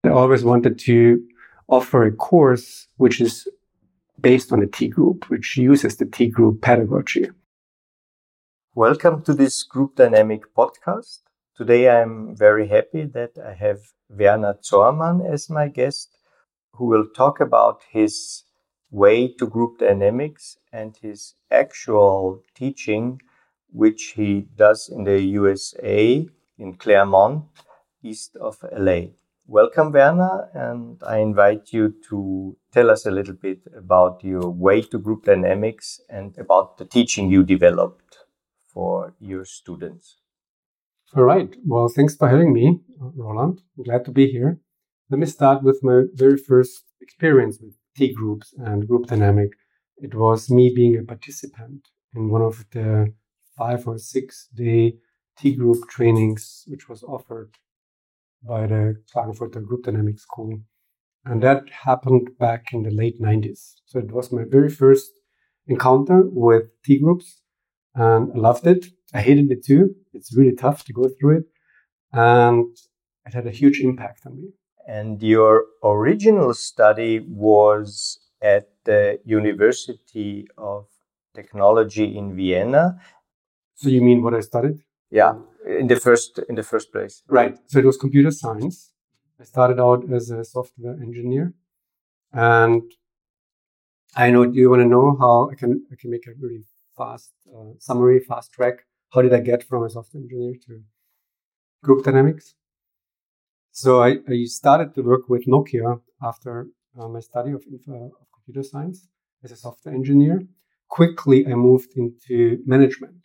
I always wanted to offer a course which is based on a T group, which uses the T group pedagogy. Welcome to this Group Dynamic podcast. Today I'm very happy that I have Werner Zormann as my guest, who will talk about his way to group dynamics and his actual teaching, which he does in the USA, in Claremont, east of LA. Welcome, Werner, and I invite you to tell us a little bit about your way to group dynamics and about the teaching you developed for your students. All right. Well, thanks for having me, Roland. I'm glad to be here. Let me start with my very first experience with T groups and group dynamic. It was me being a participant in one of the 5 or 6 day T group trainings, which was offered by the Klagenfurter Group Dynamics School. And that happened back in the late 90s. So it was my very first encounter with T groups. And I loved it. I hated it too. It's really tough to go through it. And it had a huge impact on me. And your original study was at the University of Technology in Vienna. So you mean what I studied? Yeah, in the first place. Right. So it was computer science. I started out as a software engineer. And I know, do you want to know how I can make a really fast summary, fast track? How did I get from a software engineer to group dynamics? So I started to work with Nokia after my study of computer science as a software engineer. Quickly, I moved into management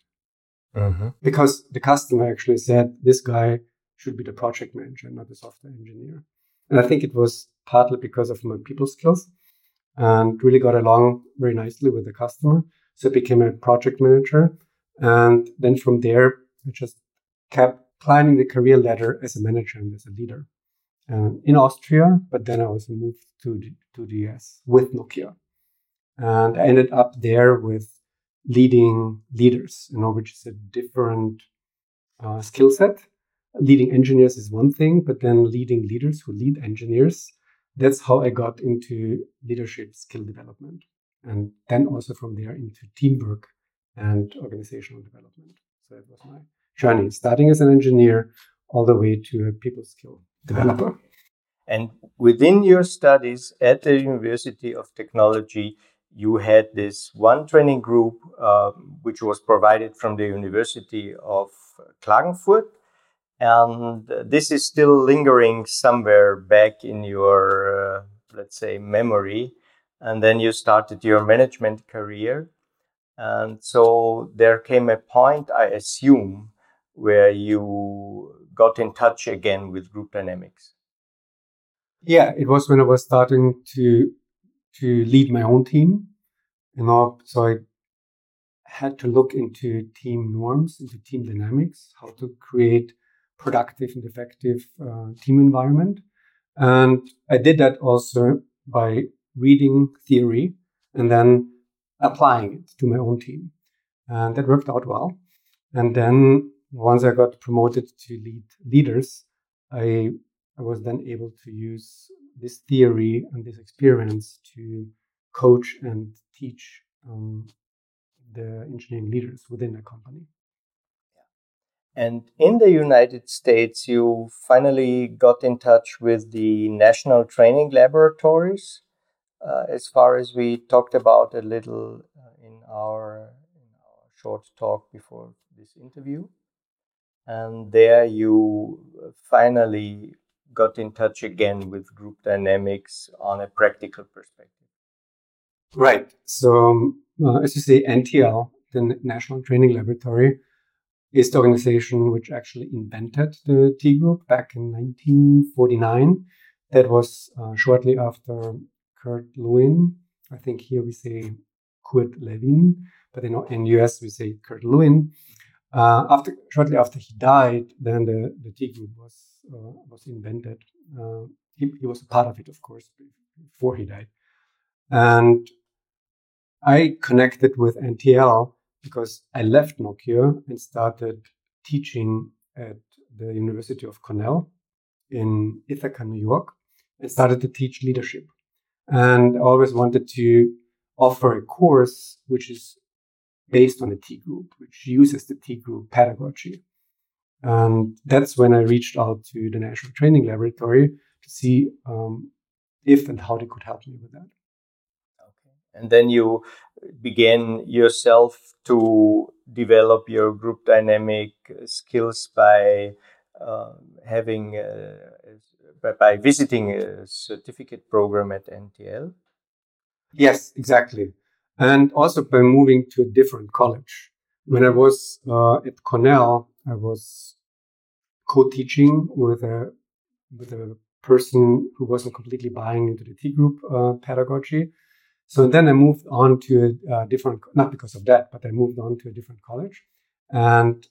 because the customer actually said, this guy should be the project manager, not the software engineer. And I think it was partly because of my people skills and really got along very nicely with the customer. So I became a project manager. And then from there, I just kept climbing the career ladder as a manager and as a leader in Austria. But then I also moved to the US with Nokia. And I ended up there with leading leaders, which is a different skill set. Leading engineers is one thing, but then leading leaders who lead engineers, that's how I got into leadership skill development. And then also from there into teamwork and organizational development. So that was my journey, starting as an engineer all the way to a people skill developer. And within your studies at the University of Technology, you had this one training group, which was provided from the University of Klagenfurt. And this is still lingering somewhere back in your, let's say, memory. And then you started your management career. And so there came a point, I assume, where you got in touch again with group dynamics. Yeah, it was when I was starting to lead my own team. So I had to look into team norms, into team dynamics, how to create productive and effective team environment. And I did that also by reading theory and then applying it to my own team. And that worked out well. And then once I got promoted to lead leaders, I was then able to use this theory and this experience to coach and teach the engineering leaders within a company. And in the United States, you finally got in touch with the National Training Laboratories, as far as we talked about a little in our short talk before this interview. And there you finally got in touch again with group dynamics on a practical perspective. Right. So, as you say, NTL, the National Training Laboratory, is the organization which actually invented the T group back in 1949. That was shortly after Kurt Lewin. I think here we say Kurt Lewin, but in US we say Kurt Lewin. Shortly after he died, then the T group was invented. He was a part of it, of course, before he died. And I connected with NTL because I left Nokia and started teaching at the University of Cornell in Ithaca, New York. and started to teach leadership. And I always wanted to offer a course which is based on a T group, which uses the T group pedagogy. And that's when I reached out to the National Training Laboratory to see if and how they could help me with that. Okay. And then you began yourself to develop your group dynamic skills by by visiting a certificate program at NTL? Yes, exactly. And also by moving to a different college. When I was at Cornell, I was co-teaching with a person who wasn't completely buying into the T group pedagogy. So then I moved on to a different, not because of that, but I moved on to a different college and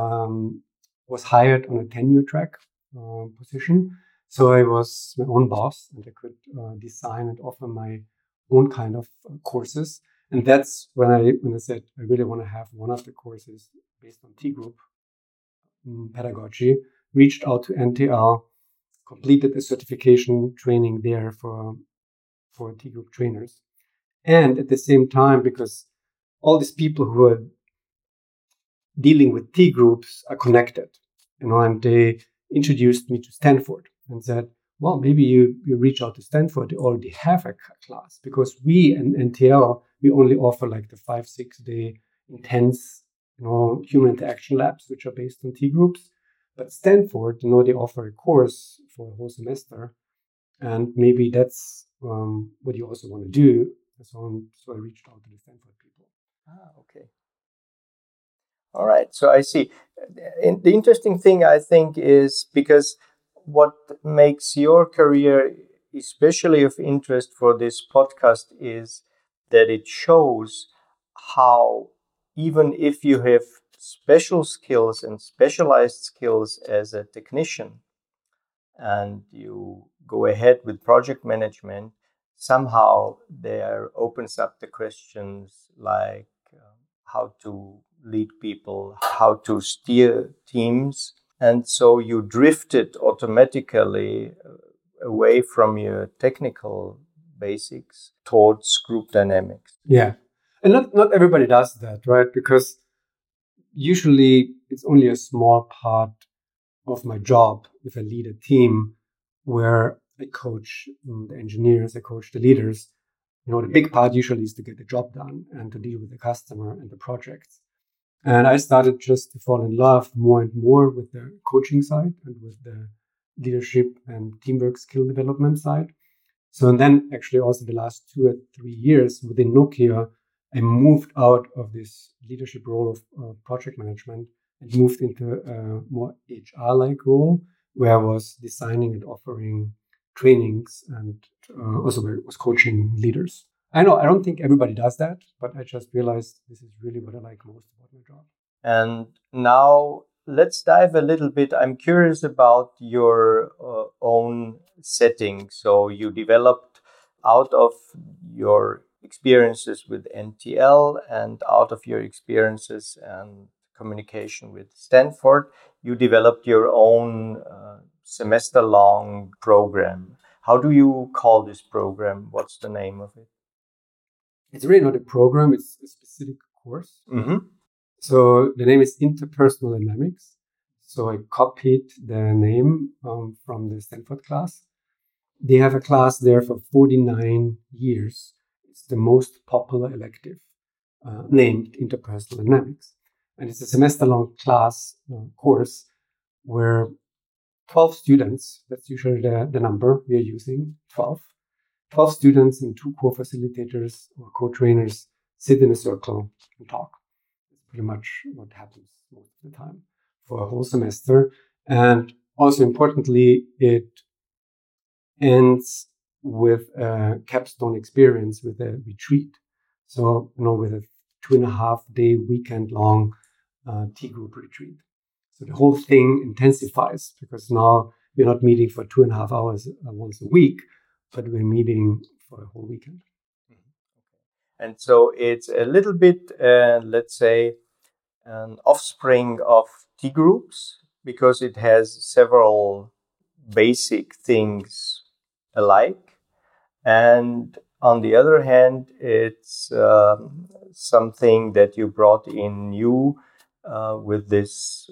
was hired on a tenure track position. So I was my own boss and I could design and offer my own kind of courses. And that's when I said I really want to have one of the courses based on T group pedagogy, reached out to NTL, completed the certification training there for T group trainers. And at the same time, because all these people who are dealing with T groups are connected, and they introduced me to Stanford and said, well, maybe you reach out to Stanford. They already have a class, because we in NTL, we only offer like the 5-6 day intense, human interaction labs, which are based on T groups. But Stanford, they offer a course for a whole semester. And maybe that's what you also want to do. So I reached out to the Stanford people. Okay. All right. So I see. The interesting thing, I think, is because what makes your career especially of interest for this podcast is that it shows how, even if you have special skills and specialized skills as a technician, and you go ahead with project management, somehow there opens up the questions like how to lead people, how to steer teams. And so you drifted automatically away from your technical basics towards group dynamics. Yeah. And not everybody does that, right? Because usually it's only a small part of my job if I lead a team where I coach the engineers, I coach the leaders. The big part usually is to get the job done and to deal with the customer and the projects. And I started just to fall in love more and more with the coaching side and with the leadership and teamwork skill development side. So, and then actually also the last 2 or 3 years within Nokia, I moved out of this leadership role of project management and moved into a more HR-like role, where I was designing and offering trainings and also was coaching leaders. I know I don't think everybody does that, but I just realized this is really what I like most about my job. And now let's dive a little bit. I'm curious about your own setting. So you developed out of your experiences with NTL and out of your experiences and communication with Stanford, you developed your own semester-long program. How do you call this program? What's the name of it? It's really not a program, it's a specific course. Mm-hmm. So the name is Interpersonal Dynamics. So I copied the name from the Stanford class. They have a class there for 49 years. It's the most popular elective named Interpersonal Dynamics. And it's a semester-long class course where 12 students, that's usually the number we are using, 12 students and 2 co-facilitators or co-trainers sit in a circle and talk. That's pretty much what happens most of the time for a whole semester. And also importantly, it ends with a capstone experience with a retreat. So, with a 2.5 day weekend long T group retreat. So the whole thing intensifies because now we're not meeting for 2.5 hours once a week, but we're meeting for a whole weekend. And so it's a little bit, let's say, an offspring of T groups because it has several basic things alike. And on the other hand, it's something that you brought in new with this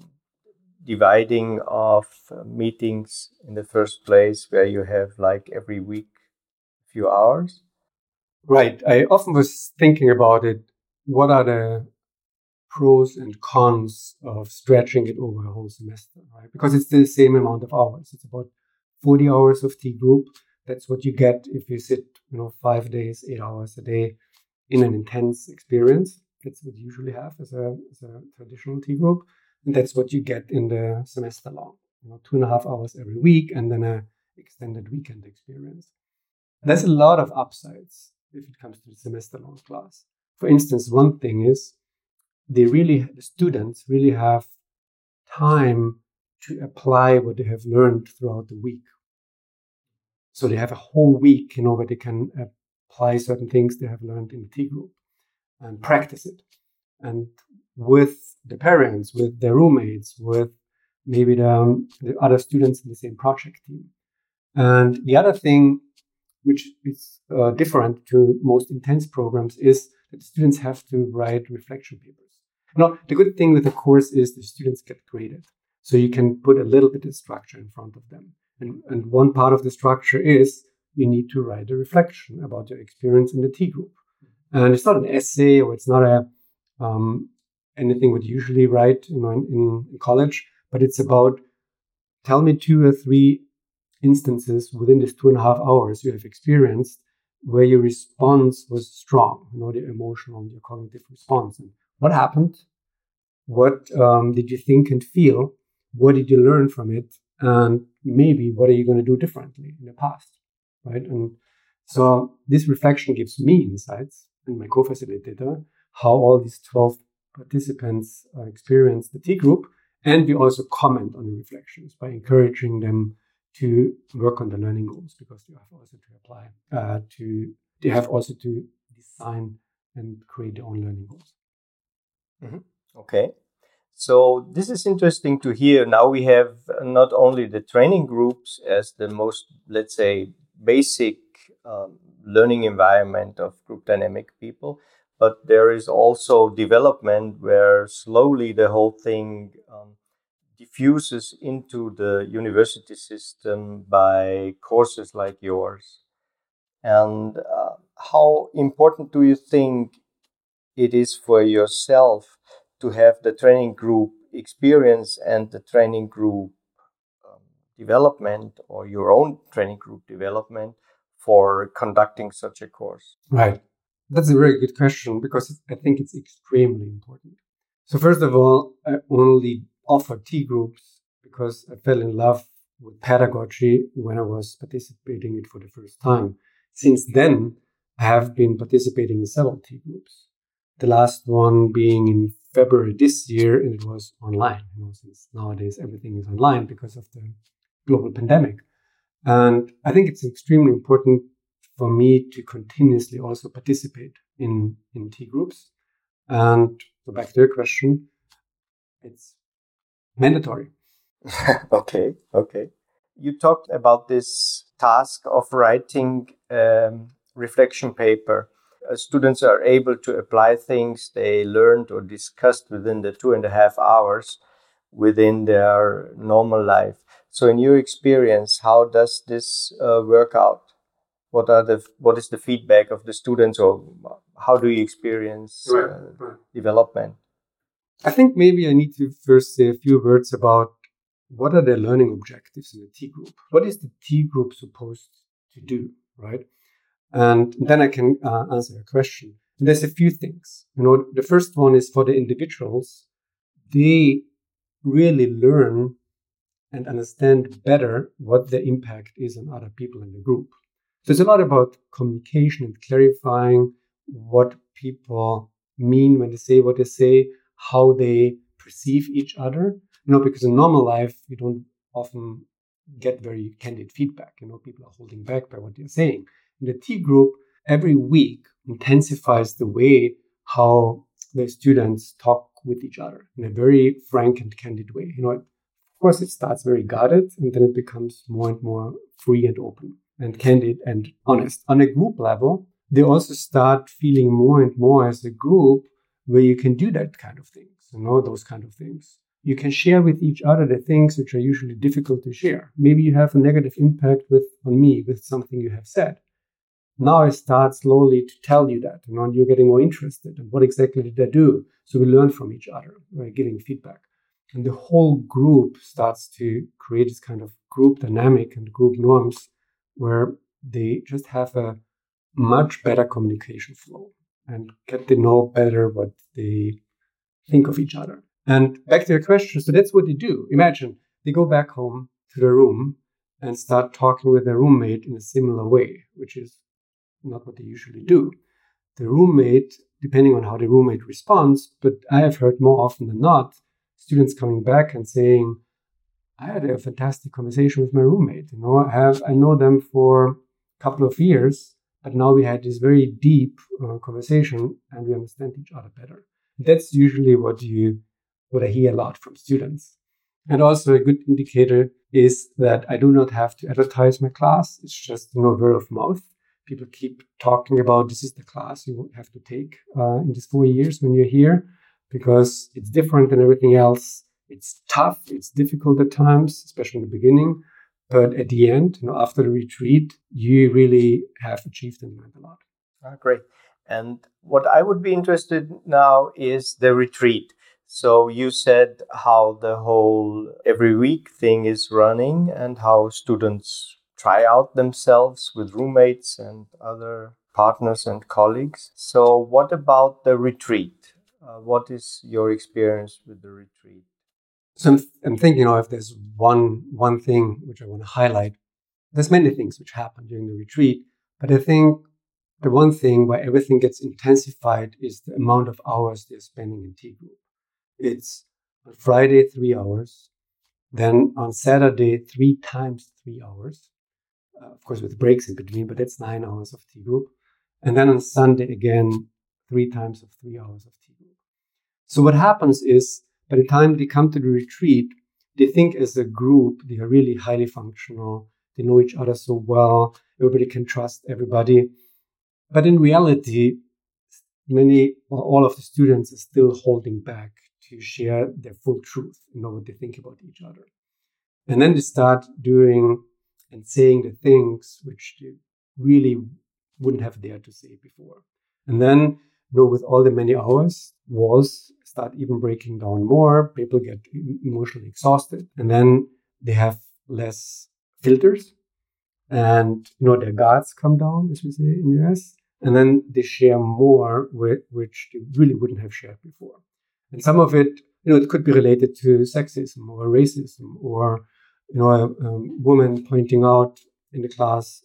dividing of meetings in the first place, where you have like every week a few hours. Right. I often was thinking about it. What are the pros and cons of stretching it over a whole semester, right? Because it's the same amount of hours. It's about 40 hours of T group. That's what you get if you sit, 5 days, 8 hours a day in an intense experience. That's what you usually have as a traditional T group. And that's what you get in the semester long, 2.5 hours every week, and then a extended weekend experience. There's a lot of upsides if it comes to the semester long class. For instance, one thing is the students really have time to apply what they have learned throughout the week. So they have a whole week, where they can apply certain things they have learned in the T group and practice it. And with the parents, with their roommates, with maybe the other students in the same project team. And the other thing, which is different to most intense programs, is that the students have to write reflection papers. The good thing with the course is the students get graded. So you can put a little bit of structure in front of them. And one part of the structure is you need to write a reflection about your experience in the T group. And it's not an essay, or it's not anything what you usually write in college, but it's about, tell me 2 or 3 instances within this 2.5 hours you have experienced where your response was strong, the emotional and your cognitive response. And what happened? What did you think and feel? What did you learn from it? And maybe what are you going to do differently in the past, right? And so this reflection gives me insights, and my co-facilitator, how all these 12 participants experience the T group. And we also comment on the reflections by encouraging them to work on the learning goals, because they have also to apply they have also to design and create their own learning goals. Mm-hmm. Okay. So this is interesting to hear. Now we have not only the training groups as the most, let's say, basic learning environment of group dynamic people, but there is also development where slowly the whole thing diffuses into the university system by courses like yours. And how important do you think it is for yourself to have the training group experience and the training group development, or your own training group development, for conducting such a course? Right. That's a very good question, because I think it's extremely important. So first of all, I only offer T groups because I fell in love with pedagogy when I was participating in it for the first time. Since then, I have been participating in several T groups. The last one being in February this year, and it was online. Since nowadays everything is online because of the global pandemic. And I think it's extremely important for me to continuously also participate in T groups. And so back to your question, it's mandatory. Okay. You talked about this task of writing reflection paper. Students are able to apply things they learned or discussed within the 2.5 hours within their normal life. So in your experience, how does this work out? What is the feedback of the students, or how do you experience development? I think maybe I need to first say a few words about what are the learning objectives in the T group. What is the T group supposed to do, right? And then I can answer your question. And there's a few things. The first one is for the individuals. They really learn and understand better what the impact is on other people in the group. So it's a lot about communication and clarifying what people mean when they say what they say, how they perceive each other. Because in normal life, you don't often get very candid feedback. People are holding back by what they're saying. In the T group, every week intensifies the way how the students talk with each other in a very frank and candid way. Of course, it starts very guarded, and then it becomes more and more free and open. and candid and honest. On a group level, they also start feeling more and more as a group where you can do that kind of things, those kind of things. You can share with each other the things which are usually difficult to share. Maybe you have a negative impact on me with something you have said. Now I start slowly to tell you that, and you're getting more interested in what exactly did I do. So we learn from each other by giving feedback. And the whole group starts to create this kind of group dynamic and group norms where they just have a much better communication flow and get to know better what they think of each other. And back to your question, so that's what they do. Imagine they go back home to their room and start talking with their roommate in a similar way, which is not what they usually do. The roommate, depending on how the roommate responds, but I have heard more often than not, students coming back and saying, I had a fantastic conversation with my roommate. I know them for a couple of years, but now we had this very deep conversation and we understand each other better. That's usually what I hear a lot from students. And also a good indicator is that I do not have to advertise my class. It's just word of mouth. People keep talking about this is the class you have to take in these 4 years when you're here, because it's different than everything else. It's tough. It's difficult at times, especially in the beginning. But at the end, after the retreat, you really have achieved and learned a lot. Great. And what I would be interested now is the retreat. So you said how the whole every week thing is running and how students try out themselves with roommates and other partners and colleagues. So what about the retreat? What is your experience with the retreat? So I'm thinking, if there's one thing which I want to highlight, there's many things which happen during the retreat, but I think the one thing where everything gets intensified is the amount of hours they're spending in T group. It's on Friday, 3 hours, then on Saturday, 3 times 3 hours, of course with breaks in between, but that's 9 hours of T group. And then on Sunday, again, 3 times of 3 hours of T group. So what happens is, by the time they come to the retreat, they think as a group, they are really highly functional. They know each other so well. Everybody can trust everybody. But in reality, all of the students are still holding back to share their full truth, what they think about each other. And then they start doing and saying the things which they really wouldn't have dared to say before. And then, with all the many hours, walls start even breaking down more. People get emotionally exhausted. And then they have less filters. And, their guards come down, as we say in the US. And then they share more, which they really wouldn't have shared before. And some of it, it could be related to sexism or racism or, a woman pointing out in the class,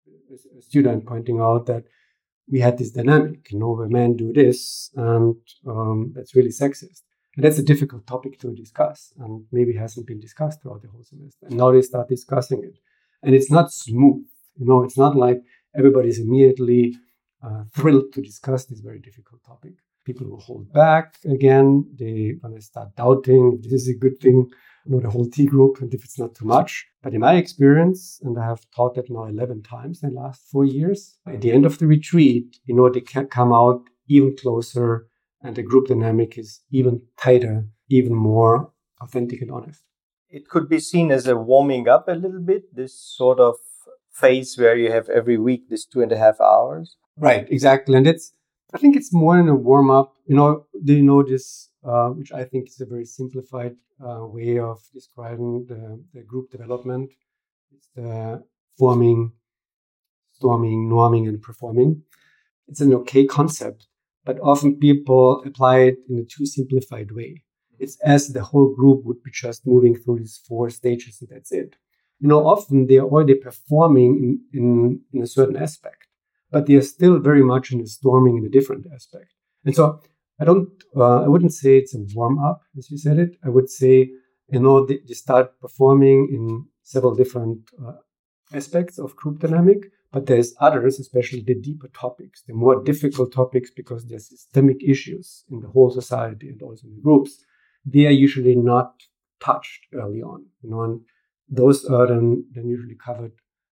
a student pointing out that we had this dynamic, where men do this and that's really sexist. And that's a difficult topic to discuss and maybe hasn't been discussed throughout the whole semester. And now they start discussing it. And it's not smooth. It's not like everybody's immediately thrilled to discuss this very difficult topic. People will hold back again. They're going to start doubting if this is a good thing, the whole T group, and if it's not too much. But in my experience, and I have taught that now 11 times in the last 4 years, at the end of the retreat, they can come out even closer and the group dynamic is even tighter, even more authentic and honest. It could be seen as a warming up a little bit, this sort of phase where you have every week this 2.5 hours. Right, exactly. And I think it's more than a warm up. Do you know this, which I think is a very simplified way of describing the group development? It's the forming, storming, norming, and performing. It's an okay concept, but often people apply it in a too simplified way. It's as the whole group would be just moving through these 4 stages and that's it. Often they're already performing in a certain aspect, but they are still very much in the storming in a different aspect. And so I wouldn't say it's a warm up, as you said it. I would say, they start performing in several different aspects of group dynamic, but there's others, especially the deeper topics, the more difficult topics, because there's systemic issues in the whole society and also in the groups. They are usually not touched early on, and those are then usually covered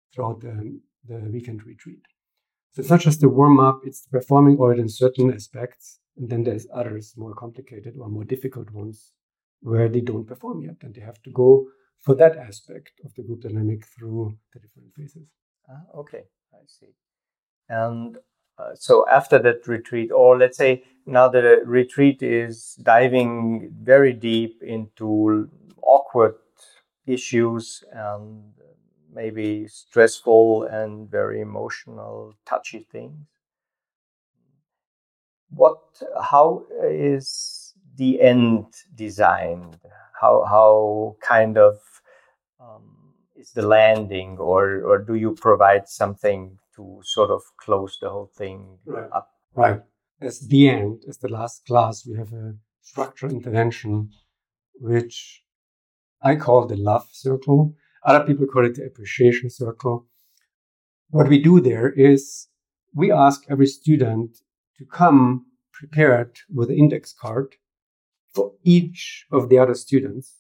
throughout the weekend retreat. So it's not just the warm-up, it's performing already in certain aspects, and then there's others, more complicated or more difficult ones, where they don't perform yet, and they have to go for that aspect of the group dynamic through the different phases. Okay, I see. And so after that retreat, or let's say now the retreat is diving very deep into awkward issues and maybe stressful and very emotional, touchy things. How is the end designed? How kind of is the landing, or do you provide something to sort of close the whole thing up? Right. As the end, as the last class, we have a structural intervention, which I call the love circle. Other people call it the appreciation circle. What we do there is we ask every student to come prepared with an index card for each of the other students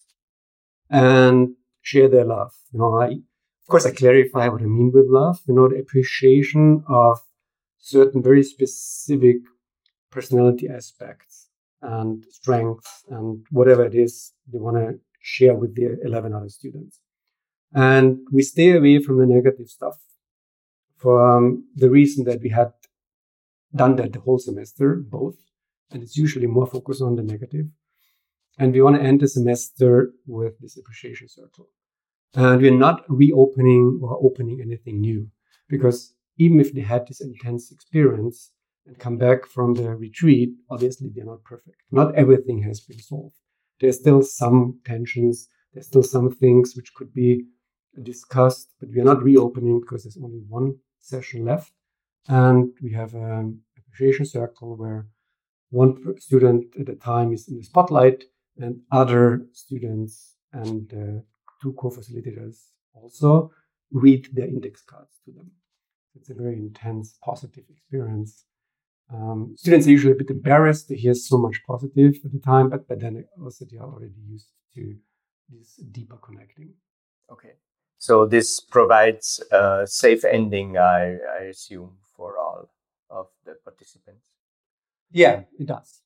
and share their love. Of course, I clarify what I mean with love. The appreciation of certain very specific personality aspects and strengths and whatever it is they want to share with the 11 other students. And we stay away from the negative stuff for the reason that we had done that the whole semester, both. And it's usually more focused on the negative. And we want to end the semester with this appreciation circle. And we're not reopening or opening anything new, because even if they had this intense experience and come back from the retreat, obviously they're not perfect. Not everything has been solved. There's still some tensions. There's still some things which could be discussed, but we are not reopening because there's only one session left. And we have an appreciation circle where one student at a time is in the spotlight, and other students and two co-facilitators also read their index cards to them. It's a very intense, positive experience. Students are usually a bit embarrassed to hear so much positive at the time, but then also they are already used to this deeper connecting. Okay. So this provides a safe ending, I assume, for all of the participants. Yeah, it does.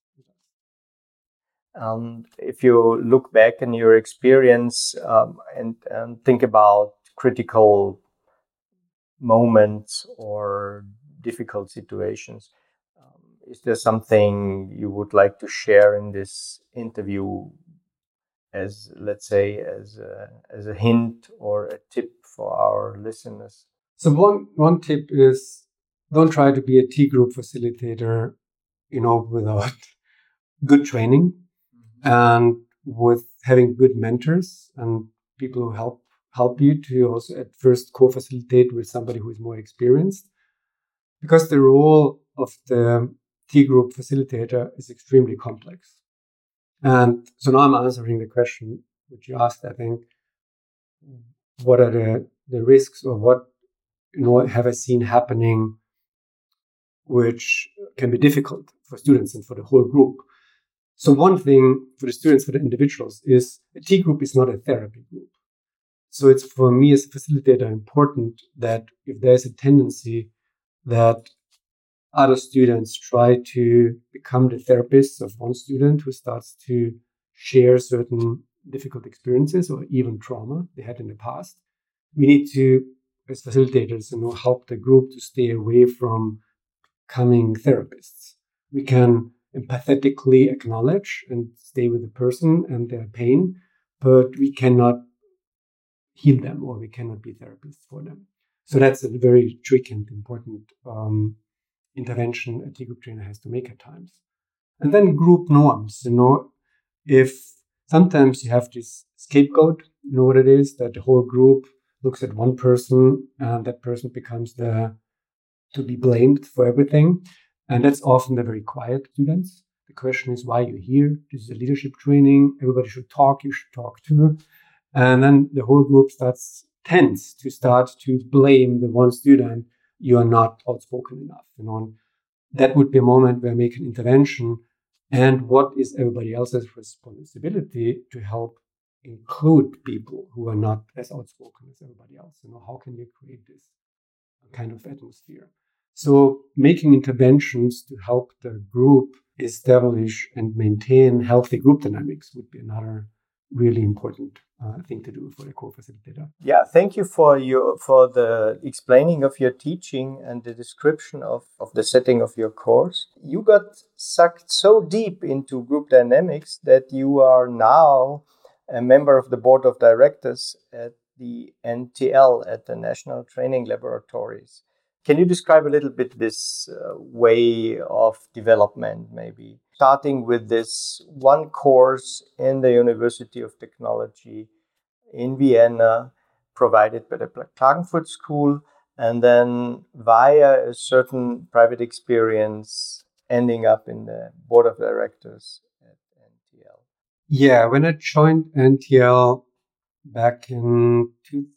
If you look back in your experience and think about critical moments or difficult situations, is there something you would like to share in this interview as, let's say, as a hint or a tip for our listeners? So one tip is, don't try to be a T group facilitator, without good training and with having good mentors and people who help you to also at first co-facilitate with somebody who is more experienced, because the role of the T group facilitator is extremely complex. And so now I'm answering the question which you asked, I think. What are the risks, or what have I seen happening which can be difficult for students and for the whole group? So one thing for the students, for the individuals, is a T group is not a therapy group. So it's, for me as a facilitator, important that if there's a tendency that other students try to become the therapists of one student who starts to share certain difficult experiences or even trauma they had in the past, we need to, as facilitators, help the group to stay away from becoming therapists. We can empathetically acknowledge and stay with the person and their pain, but we cannot heal them, or we cannot be therapists for them. So that's a very tricky and important intervention a T group trainer has to make at times. And then group norms, if sometimes you have this scapegoat, what it is, that the whole group looks at one person and that person becomes to be blamed for everything. And that's often the very quiet students. The question is, why are you here? This is a leadership training. Everybody should talk. You should talk too. And then the whole group tends to start to blame the one student. You are not outspoken enough. That would be a moment where I make an intervention. And what is everybody else's responsibility to help include people who are not as outspoken as everybody else. How can you create this kind of atmosphere? So making interventions to help the group establish and maintain healthy group dynamics would be another really important thing to do for the co-facilitator. Yeah, thank you for the explaining of your teaching and the description of the setting of your course. You got sucked so deep into group dynamics that you are now a member of the board of directors at the NTL, at the National Training Laboratories. Can you describe a little bit this way of development, maybe? Starting with this one course in the University of Technology in Vienna, provided by the Klagenfurt School, and then via a certain private experience, ending up in the board of directors at NTL. Yeah, when I joined NTL back in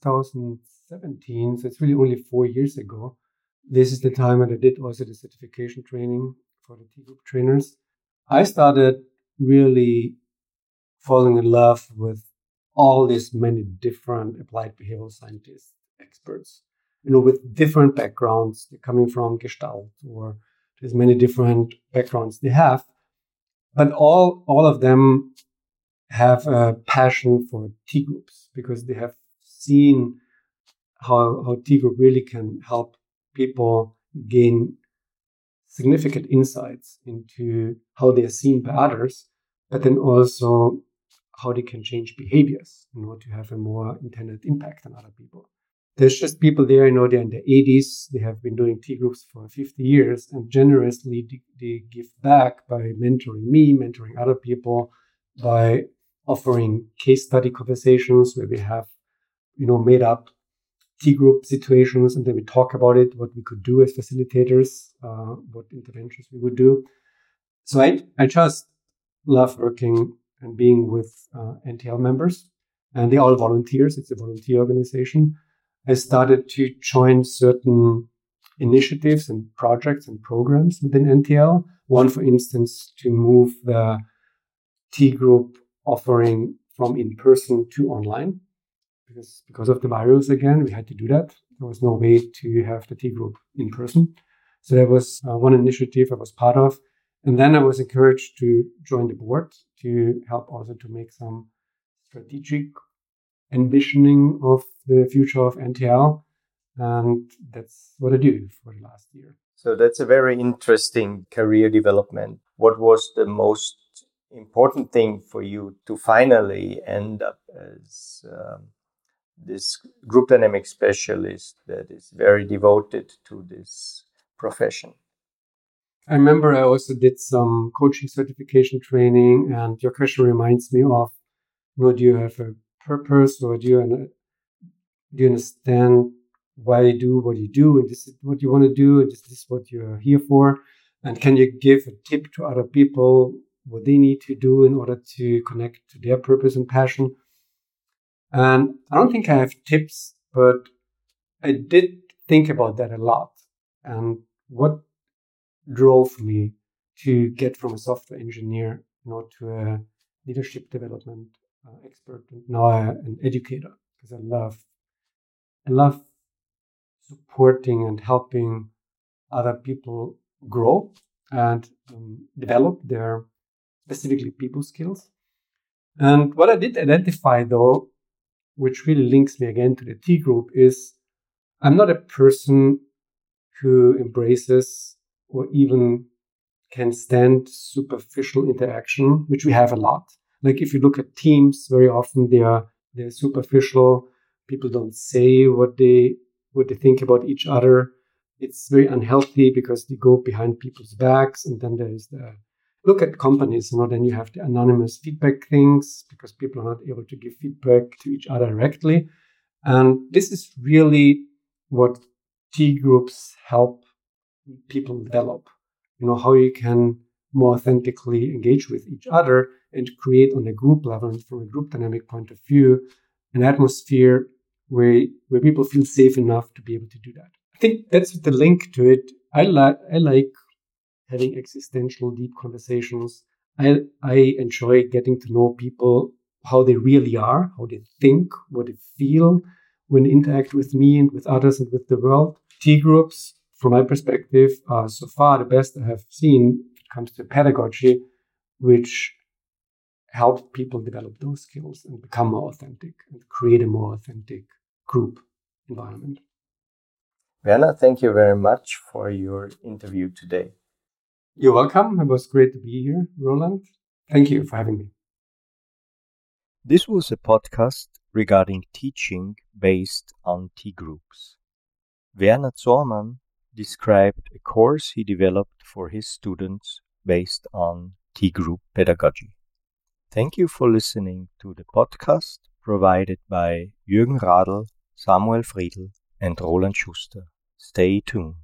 2017, so it's really only 4 years ago, this is the time when I did also the certification training for the T-Group trainers. I started really falling in love with all these many different applied behavioral scientist experts, with different backgrounds. They're coming from Gestalt, or there's many different backgrounds they have, but all of them have a passion for T-groups because they have seen how T-group really can help people gain significant insights into how they are seen by others, but then also how they can change behaviors, to have a more intended impact on other people. There's just people there, they're in their 80s, they have been doing T-groups for 50 years, and generously they give back by mentoring me, mentoring other people, by offering case study conversations where we have, made up T-group situations, and then we talk about it, what we could do as facilitators, what interventions we would do. So I just love working and being with NTL members, and they're all volunteers. It's a volunteer organization. I started to join certain initiatives and projects and programs within NTL. One, for instance, to move the T-group offering from in-person to online. Because of the virus, again, we had to do that. There was no way to have the T-group in person. So that was one initiative I was part of. And then I was encouraged to join the board to help also to make some strategic envisioning of the future of NTL. And that's what I do for the last year. So that's a very interesting career development. What was the most important thing for you to finally end up as this group dynamic specialist that is very devoted to this profession? I remember I also did some coaching certification training, and your question reminds me of, do you have a purpose, or do you understand why you do what you do, and this is what you want to do, and this is what you're here for, and can you give a tip to other people what they need to do in order to connect to their purpose and passion? And I don't think I have tips, but I did think about that a lot. And what drove me to get from a software engineer, to a leadership development expert, and now an educator, because I love supporting and helping other people grow and develop their specifically people skills. And what I did identify, though, which really links me again to the T-group, is I'm not a person who embraces or even can stand superficial interaction, which we have a lot. Like if you look at teams, very often they're superficial. People don't say what they think about each other. It's very unhealthy because they go behind people's backs. And then there's look at companies, then you have the anonymous feedback things because people are not able to give feedback to each other directly. And this is really what T-groups help people develop, how you can more authentically engage with each other and create on a group level and from a group dynamic point of view, an atmosphere where people feel safe enough to be able to do that. I think that's the link to it. I like having existential, deep conversations. I enjoy getting to know people how they really are, how they think, what they feel when they interact with me and with others and with the world. T groups, from my perspective, are so far the best I have seen when it comes to pedagogy, which help people develop those skills and become more authentic and create a more authentic group environment. Werner, thank you very much for your interview today. You're welcome. It was great to be here, Roland. Thank you for having me. This was a podcast regarding teaching based on T groups. Werner Zormann described a course he developed for his students based on T group pedagogy. Thank you for listening to the podcast provided by Jürgen Radl, Samuel Friedl, and Roland Schuster. Stay tuned.